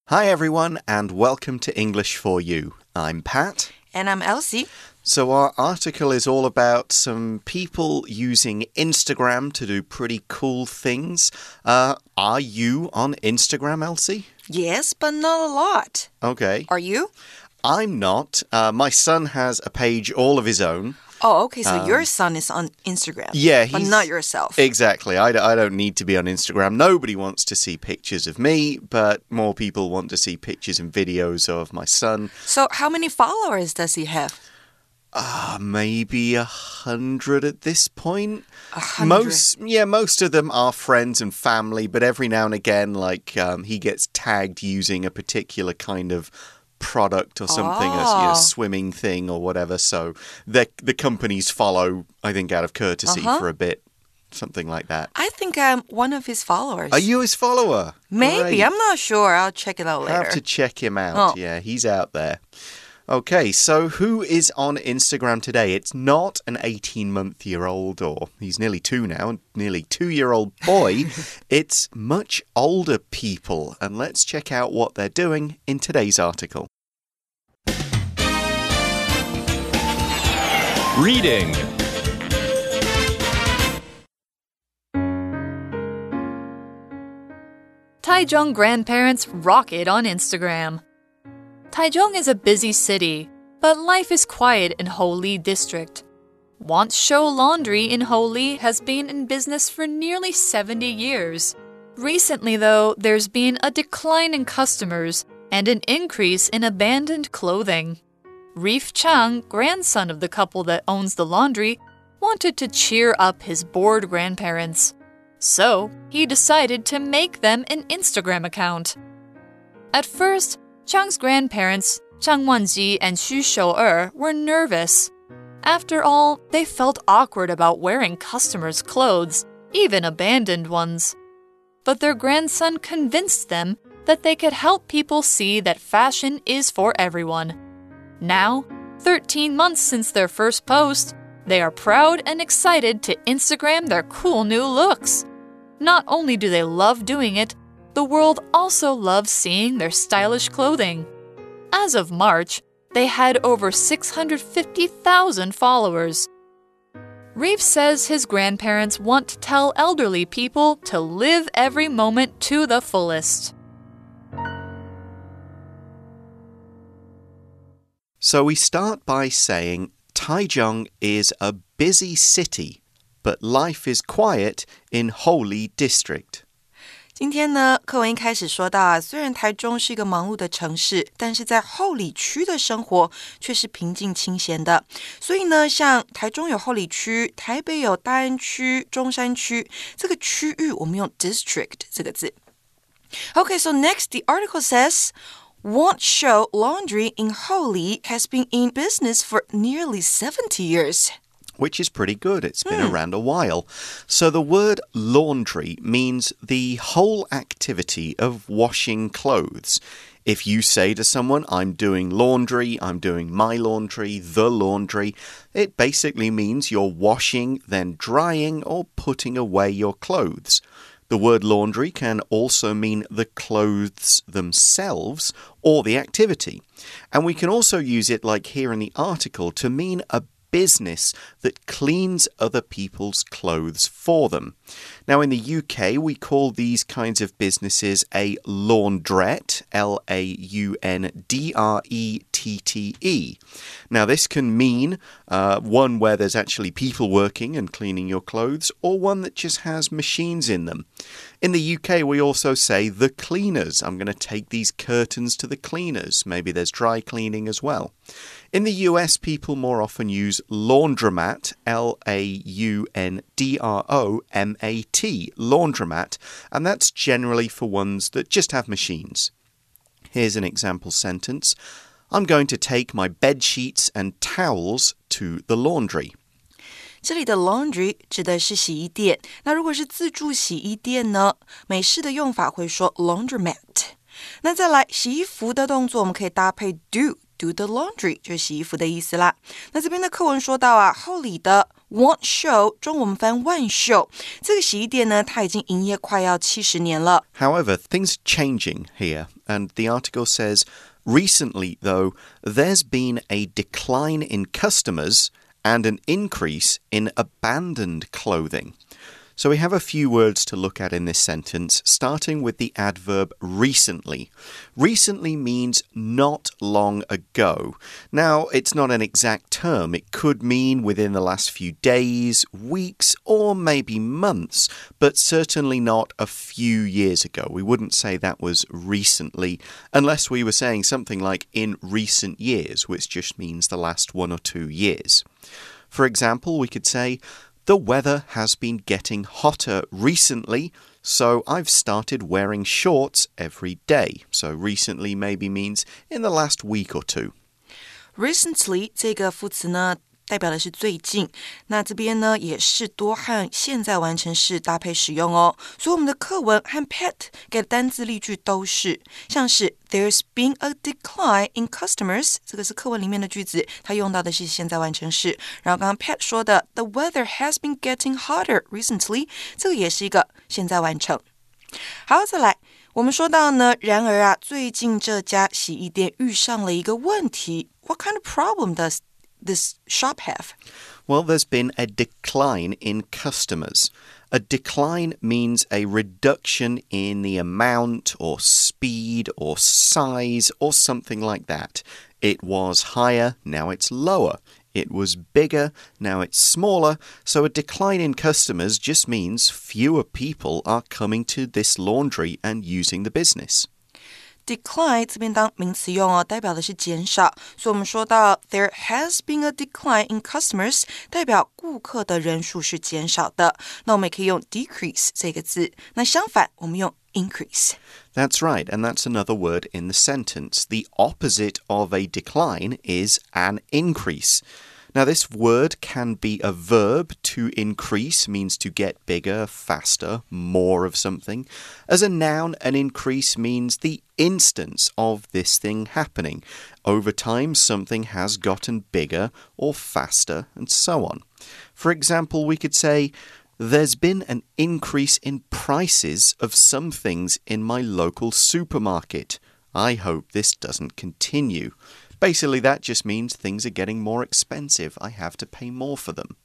Hi everyone and welcome to English for You. I'm Pat. And I'm Elsie. So our article is all about some people using Instagram to do pretty cool things. Are you on Instagram, Elsie? Yes, but not a lot. Okay. Are you? I'm not. My son has a page all of his own. Oh, okay, so your son is on Instagram. Yeah, but not yourself. Exactly. I don't need to be on Instagram. Nobody wants to see pictures of me, but more people want to see pictures and videos of my son. So how many followers does he have? Maybe 100 at this point. 100? Most of them are friends and family, but every now and again, he gets tagged using a particular kind of product or something, a swimming thing or whatever. So the companies follow, I think, out of courtesy for a bit. Something like that. I think I'm one of his followers. Are you his follower? Maybe. Great. I'm not sure. I'll check it out later. Have to check him out. Yeah, he's out there. Okay, so who is on Instagram today? It's not an 18-month-year-old, or he's nearly 2 now, nearly 2-year-old boy. It's much older people, and let's check out what they're doing in today's article. Reading. Taichung grandparents rock it on Instagram. Taichung is a busy city, but life is quiet in Houli District. Want Show Laundry in Houli has been in business for nearly 70 years. Recently, though, there's been a decline in customers and an increase in abandoned clothing. Reef Chang, grandson of the couple that owns the laundry, wanted to cheer up his bored grandparents. So, he decided to make them an Instagram account. At first, Chang's grandparents, Zhang Wanji and Xu Shou'er, were nervous. After all, they felt awkward about wearing customers' clothes, even abandoned ones. But their grandson convinced them that they could help people see that fashion is for everyone. Now, 13 months since their first post, they are proud and excited to Instagram their cool new looks. Not only do they love doing it, the world also loves seeing their stylish clothing. As of March, they had over 650,000 followers. Reef says his grandparents want to tell elderly people to live every moment to the fullest. So we start by saying Taichung is a busy city, but life is quiet in Houli District. 今天呢，課文一開始說到雖然台中是一個忙碌的城市，但是在后里區的生活卻是平靜清閒的。所以呢，像台中有後里區，台北有大安區、中山區，這個區域我們用 district 這個字。Okay, so next the article says, Want Show Laundry in Houli has been in business for nearly 70 years. Which is pretty good. It's been around a while. So the word laundry means the whole activity of washing clothes. If you say to someone, I'm doing laundry, I'm doing my laundry, the laundry, it basically means you're washing, then drying, or putting away your clothes. The word laundry can also mean the clothes themselves or the activity. And we can also use it, like here in the article, to mean a business that cleans other people's clothes for them. Now, in the UK, we call these kinds of businesses a laundrette, L-A-U-N-D-R-E-T-T-E. Now, this can mean one where there's actually people working and cleaning your clothes, or one that just has machines in them. In the UK, we also say the cleaners. I'm going to take these curtains to the cleaners. Maybe there's dry cleaning as well. In the US, people more often use laundromat, L-A-U-N-D-R-O-M-A-T, laundromat, and that's generally for ones that just have machines. Here's an example sentence. I'm going to take my bed sheets and towels to the laundry. 這裡的 laundry 指的是洗衣店。那如果是自助洗衣店呢，美式的用法會說 laundromat。那再來洗衣服的動作，我們可以搭配 do the laundry， 就是洗衣服的意思啦。那這邊的課文說到啊，后里的 Want Show 中文我們翻萬秀，這個洗衣店呢，它已經營業快要70年了。 However, things are changing here, and the article says, recently, though, there's been a decline in customers and an increase in abandoned clothing. So we have a few words to look at in this sentence, starting with the adverb recently. Recently means not long ago. Now, it's not an exact term. It could mean within the last few days, weeks, or maybe months, but certainly not a few years ago. We wouldn't say that was recently, unless we were saying something like in recent years, which just means the last 1 or 2 years. For example, we could say, the weather has been getting hotter recently, so I've started wearing shorts every day. So recently maybe means in the last week or two. Recently 這個副詞呢，代表的是最近，那這邊呢也是多和現在完成式搭配使用哦。所以我們的課文和 Pat 給的單字例句都是，像是 There's been a decline in customers， 這個是課文裡面的句子，它用到的是現在完成式。然後剛剛 Pat 說的 The weather has been getting hotter recently， 這個也是一個現在完成。好，再來，我們說到呢，然而啊，最近這家洗衣店遇上了一個問題。What kind of problem does this shop have? Well, there's been a decline in customers. A decline means a reduction in the amount or speed or size or something like that. It was higher, now it's lower. It was bigger, now it's smaller. So a decline in customers just means fewer people are coming to this laundry and using the business.Decline 這邊當名詞用哦，代表的是減少。所以我們說到 There has been a decline in customers， 代表顧客的人數是減少的。那我們也可以用 decrease 這個字。那相反，我們用 increase. That's right, and that's another word in the sentence. The opposite of a decline is an increase.Now, this word can be a verb. To increase means to get bigger, faster, more of something. As a noun, an increase means the instance of this thing happening. Over time, something has gotten bigger or faster, and so on. For example, we could say, There's been an increase in prices of some things in my local supermarket. I hope this doesn't continue.Basically, that just means things are getting more expensive. I have to pay more for them.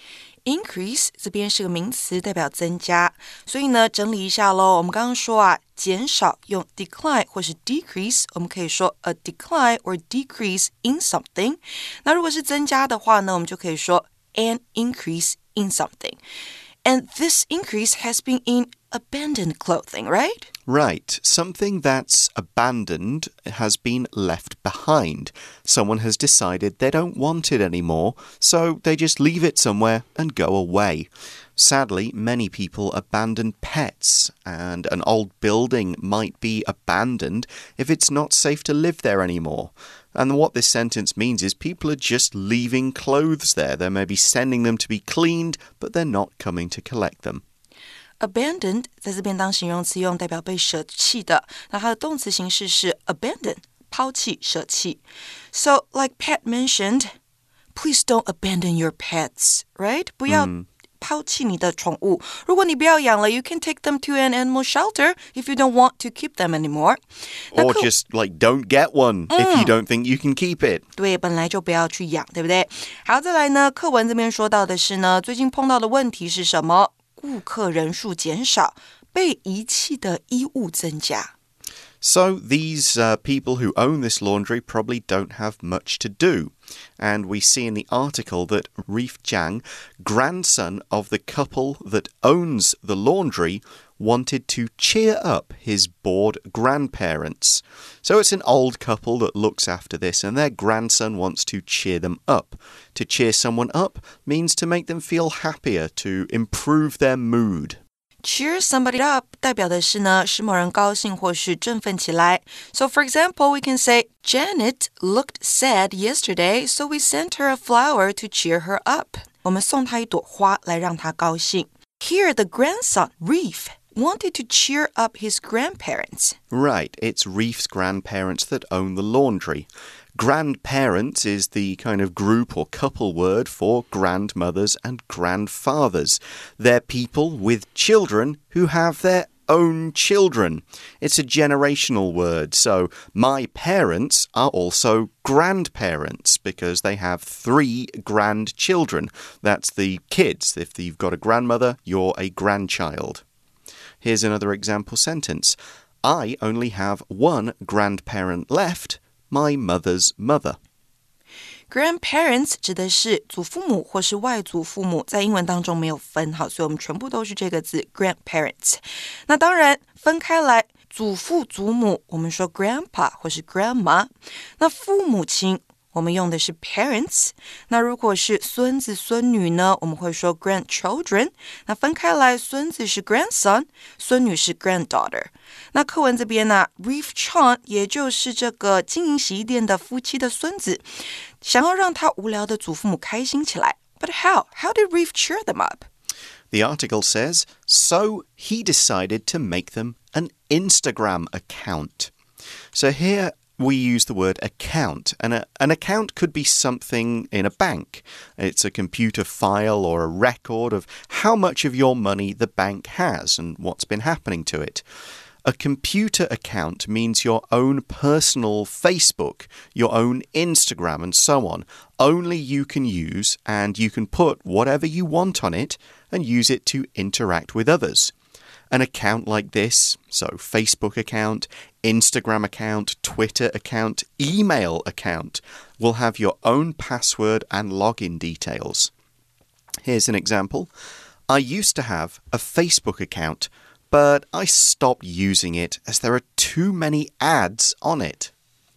Increase 這邊是個名詞，代表增加。所以呢，整理一下咯。我們剛剛說啊，減少用 decline 或是 decrease， 我們可以說 a decline or decrease in something。那如果是增加的話呢，我們就可以說 an increase in something。And this increase has been in abandoned clothing, right? Right. Something that's abandoned has been left behind. Someone has decided they don't want it anymore, so they just leave it somewhere and go away. Sadly, many people abandon pets, and an old building might be abandoned if it's not safe to live there anymore. And what this sentence means is people are just leaving clothes there. They may be sending them to be cleaned, but they're not coming to collect them.Abandoned 在這邊當形容詞用，代表被捨棄的。那它的動詞形式是 abandon， 拋棄、捨棄。So, like Pat mentioned, please don't abandon your pets, right? 不要拋棄你的寵物。如果你不要養了 you can take them to an animal shelter if you don't want to keep them anymore. Or just, like, don't get one if you don't think you can keep it. 对，本來就不要去養，對不對？好，再來呢，課文這邊說到的是呢，最近碰到的問題是什麼？顧客人數減少，被遺棄的衣物增加。 So these people who own this laundry probably don't have much to do. And we see in the article that Reef Jiang, grandson of the couple that owns the laundry, wanted to cheer up his bored grandparents. So it's an old couple that looks after this, and their grandson wants to cheer them up. To cheer someone up means to make them feel happier, to improve their mood.Cheer somebody up 代表的是呢，使某人高興或是振奮起來。So for example, we can say, Janet looked sad yesterday, so we sent her a flower to cheer her up. 我們送她一朵花來讓她高興。Here, the grandson, Reef, wanted to cheer up his grandparents. Right, it's Reef's grandparents that own the laundry. Grandparents is the kind of group or couple word for grandmothers and grandfathers. They're people with children who have their own children. It's a generational word, so my parents are also grandparents because they have 3 grandchildren. That's the kids. If you've got a grandmother, you're a grandchild. Here's another example sentence. I only have 1 grandparent left, my mother's mother. Grandparents 指的是祖父母或是外祖父母，在英文当中没有分，好，所以我们全部都是这个字 grandparents。那当然分开来，祖父祖母我们说 grandpa 或是 grandma， 那父母親我們用的是 parents， 那如果是孫子孫女呢，我們會說 grandchildren， 那分開來孫子是 grandson， 孫女是 granddaughter。那課文這邊呢，Reef Chant 也就是這個經營洗衣店的夫妻的孫子，想要讓他無聊的祖父母開心起來。But how? How did Reef cheer them up? The article says, so he decided to make them an Instagram account. So here we use the word account, and an account could be something in a bank. It's a computer file or a record of how much of your money the bank has and what's been happening to it. A computer account means your own personal Facebook, your own Instagram, and so on. Only you can use, and you can put whatever you want on it and use it to interact with others. An account like this, so Facebook account, Instagram account, Twitter account, email account, will have your own password and login details. Here's an example. I used to have a Facebook account, but I stopped using it as there are too many ads on it.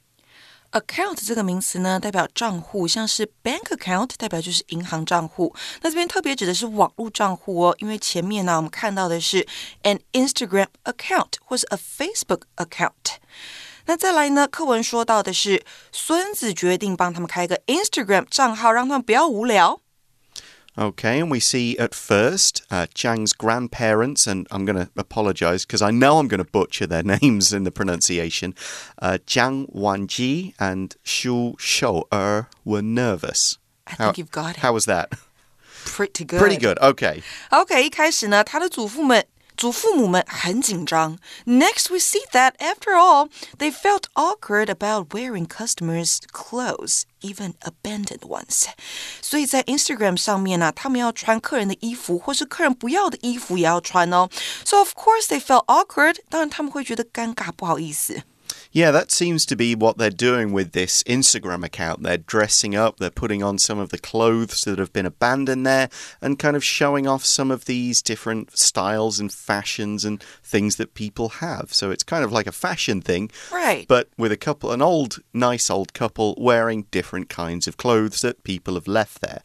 Account 這個名詞呢，代表賬戶，像是 bank account 代表就是銀行賬戶。那這邊特別指的是網絡賬戶哦，因為前面呢我們看到的是 an Instagram account 或是 a Facebook account。那再來呢，課文說到的是孫子決定幫他們開一個 Instagram 賬號，讓他們不要無聊。 Okay, and we see at first Jiang's grandparents, and I'm going to apologize because I know I'm going to butcher their names in the pronunciation. Jiang Wanji and Xu Shou'er were nervous. I think you've got it. How was that? Pretty good. Pretty good, okay. Okay, 一開始呢，他的祖父母們很緊張。Next, we see that, after all, they felt awkward about wearing customers' clothes, even abandoned ones. 所以在 Instagram 上面呢，他們要穿客人的衣服，或是客人不要的衣服也要穿哦。So, of course, they felt awkward. 當然他們會覺得尷尬，不好意思。 Yeah, that seems to be what they're doing with this Instagram account. They're dressing up, they're putting on some of the clothes that have been abandoned there and kind of showing off some of these different styles and fashions and things that people have. So it's kind of like a fashion thing, right? But with an nice old couple wearing different kinds of clothes that people have left there.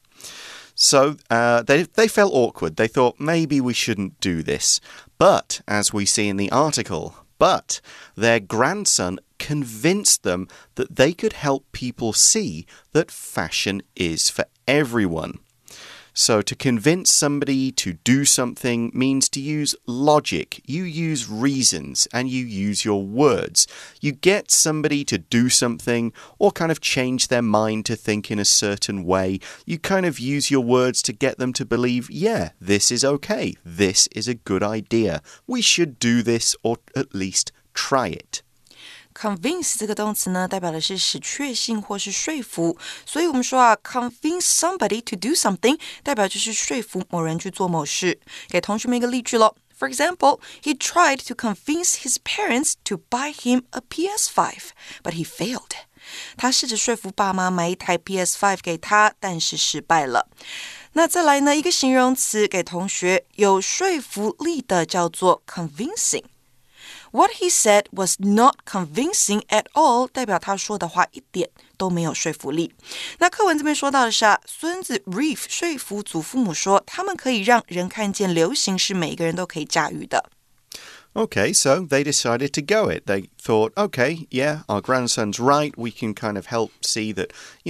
So they felt awkward. They thought maybe we shouldn't do this. But, as we see in the article, their grandson convinced them that they could help people see that fashion is for everyone. So to convince somebody to do something means to use logic. You use reasons and you use your words. You get somebody to do something or kind of change their mind to think in a certain way. You kind of use your words to get them to believe, yeah, this is okay. This is a good idea. We should do this or at least try it. Convince 這個動詞呢，代表的是使確信或是說服，所以我們說啊 convince somebody to do something 代表就是說服某人去做某事。給同學們一個例句咯。For example, he tried to convince his parents to buy him a PS5, but he failed. 他試着說服爸媽買一台 PS5 給他，但是失敗了。那再來呢，一個形容詞給同學有說服力的叫做 convincing。What he said was not convincing at all 代表他說的話一點都沒有說服力。那課文這邊說到的是孫子 Reef 說服祖父母說他們可以讓人看見流行是每個人都可以駕馭的。 Okay, so they decided to go it. They thought, okay, yeah, our grandson's right. We can kind of help see that,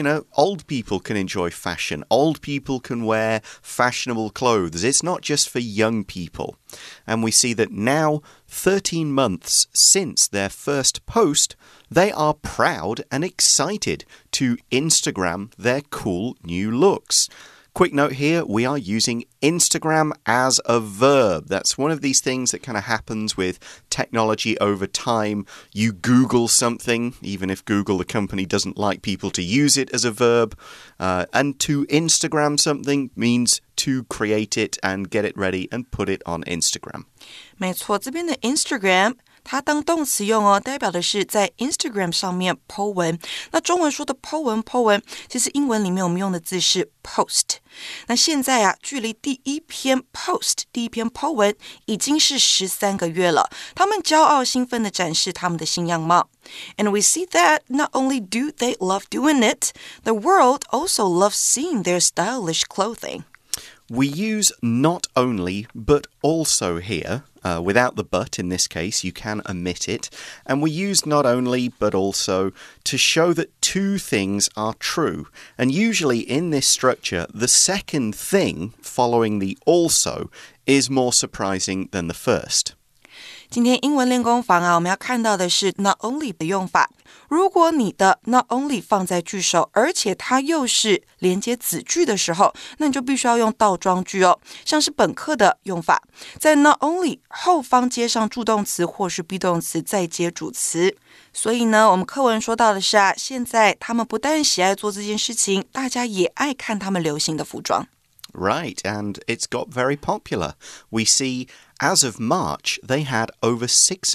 old people can enjoy fashion. Old people can wear fashionable clothes. It's not just for young people. And we see that now, 13 months since their first post, they are proud and excited to Instagram their cool new looks. Quick note here, we are using Instagram as a verb. That's one of these things that kind of happens with technology over time. You Google something, even if Google, the company, doesn't like people to use it as a verb. And to Instagram something means to create it and get it ready and put it on Instagram. 没錯，这边的 Instagram它当动詞用哦，代表的是在 Instagram 上面 po 文。那中文說的 po 文，其實英文裡面我們用的字是 post。那現在啊，距離第一篇 post 第一篇 po 文已經是13個月了。他們驕傲興奮地展示他們的新樣貌。And we see that not only do they love doing it, the world also loves seeing their stylish clothing. We use not only, but also here. Without the but in this case, you can omit it. And we use not only, but also to show that two things are true. And usually in this structure, the second thing following the also is more surprising than the first. 今天英文練功房啊，我們要看到的是 not only 的用法。如果你的 not only 放在句首，而且它又是連接子句的时候，那你就必須要用倒裝句哦。像是本課的用法，在 not only 後方接上助動詞或是 be 動詞，再接主詞。所以呢，我們課文說到的是啊，現在他們不但喜愛做這件事情，大家也愛看他們流行的服裝。 Right, and it's got very popular. We see, as of March, they had over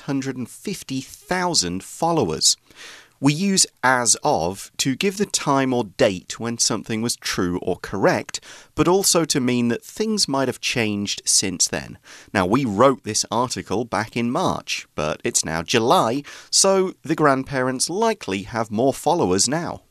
650,000 followers. We use as of to give the time or date when something was true or correct, but also to mean that things might have changed since then. Now, we wrote this article back in March, but it's now July, so the grandparents likely have more followers now.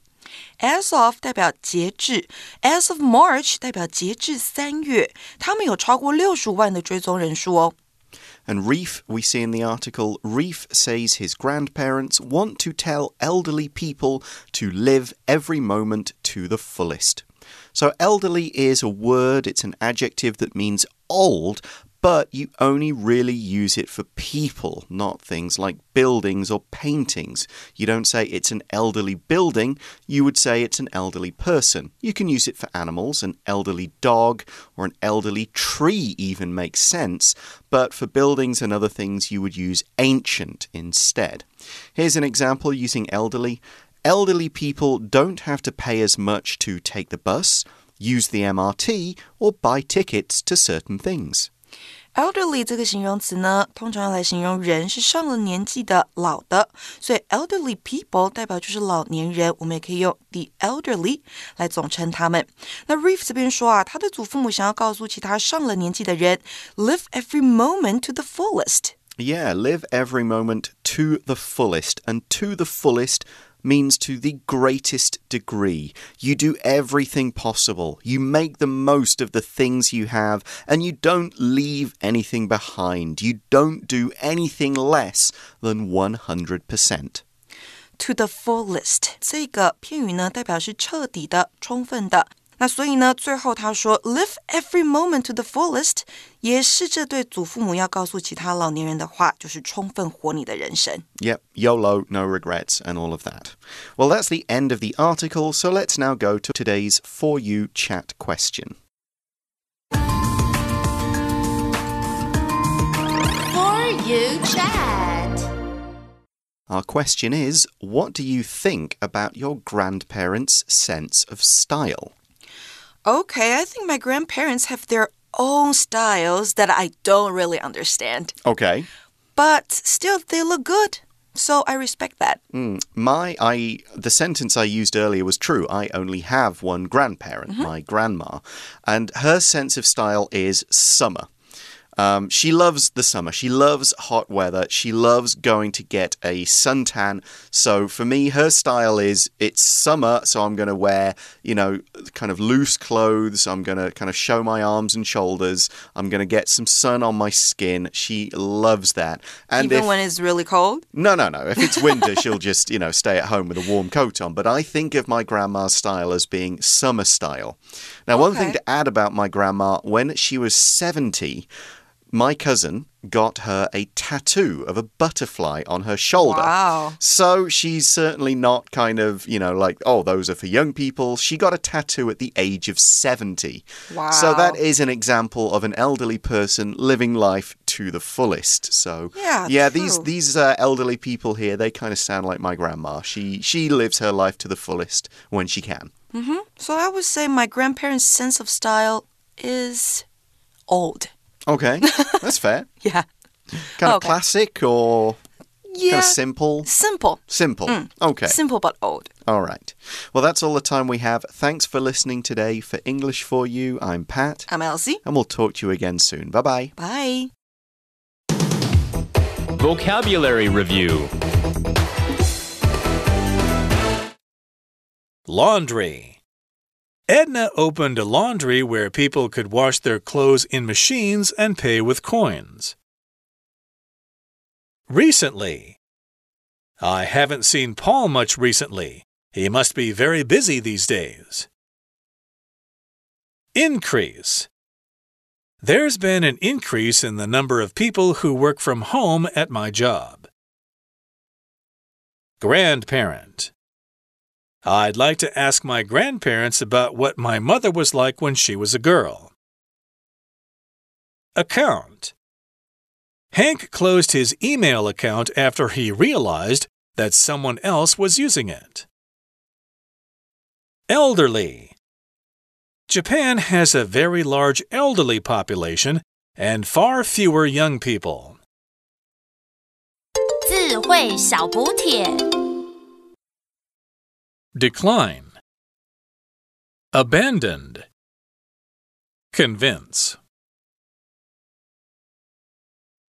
As of 代表截至 As of March 代表截至3月他們有超過65萬的追蹤人數哦。 And Reef, we see in the article, Reef says his grandparents want to tell elderly people to live every moment to the fullest. So elderly is a word, it's an adjective that means old, but you only really use it for people, not things like buildings or paintings. You don't say it's an elderly building, you would say it's an elderly person. You can use it for animals, an elderly dog or an elderly tree even makes sense, but for buildings and other things you would use ancient instead. Here's an example using elderly. Elderly people don't have to pay as much to take the bus, use the MRT, or buy tickets to certain things. Elderly 這個形容詞呢，通常用來形容人是上了年紀的老的，所以 elderly people 代表就是老年人，我們也可以用 the elderly 來總稱他們。那 Reef 這邊說啊，他的祖父母想要告訴其他上了年紀的人 live every moment to the fullest. Yeah, live every moment to the fullest. And to the fullest means to the greatest degree. You do everything possible. You make the most of the things you have, and you don't leave anything behind. You don't do anything less than 100%. To the fullest 這個片語呢，代表是徹底的、充分的。那所以呢，最後他說 live every moment to the fullest 也是這對祖父母要告訴其他老年人的話，就是充分活你的人生。 Yep, YOLO, no regrets, and all of that. Well, that's the end of the article, so let's now go to today's For You chat question. For You chat. Our question is, what do you think about your grandparents' sense of style? Okay, I think my grandparents have their own styles that I don't really understand. Okay. But still, they look good. So I respect that. The sentence I used earlier was true. I only have one grandparent, my grandma. And her sense of style is summer. She loves the summer. She loves hot weather. She loves going to get a suntan. So for me, her style is it's summer, so I'm going to wear, kind of loose clothes. I'm going to kind of show my arms and shoulders. I'm going to get some sun on my skin. She loves that. And Even when it's really cold? No. If it's winter, she'll just, stay at home with a warm coat on. But I think of my grandma's style as being summer style. Now, one thing to add about my grandma, when she was 70, my cousin got her a tattoo of a butterfly on her shoulder. Wow. So she's certainly not kind of, like, oh, those are for young people. She got a tattoo at the age of 70. Wow. So that is an example of an elderly person living life to the fullest. So yeah, these elderly people here, they kind of sound like my grandma. She lives her life to the fullest when she can. So I would say my grandparents' sense of style is old. Okay, that's fair. Yeah. Kind of classic or kind of simple? Simple. Simple. Okay. Simple but old. All right. Well, that's all the time we have. Thanks for listening today. For English for You, I'm Pat. I'm Elsie. And we'll talk to you again soon. Bye-bye. Bye. Vocabulary Review. Laundry. Edna opened a laundry where people could wash their clothes in machines and pay with coins. Recently. I haven't seen Paul much recently. He must be very busy these days. Increase. There's been an increase in the number of people who work from home at my job. Grandparent. I'd like to ask my grandparents about what my mother was like when she was a girl. Account. Hank closed his email account after he realized that someone else was using it. Elderly. Japan has a very large elderly population and far fewer young people. 智慧小補帖 Decline. Abandoned. Convince.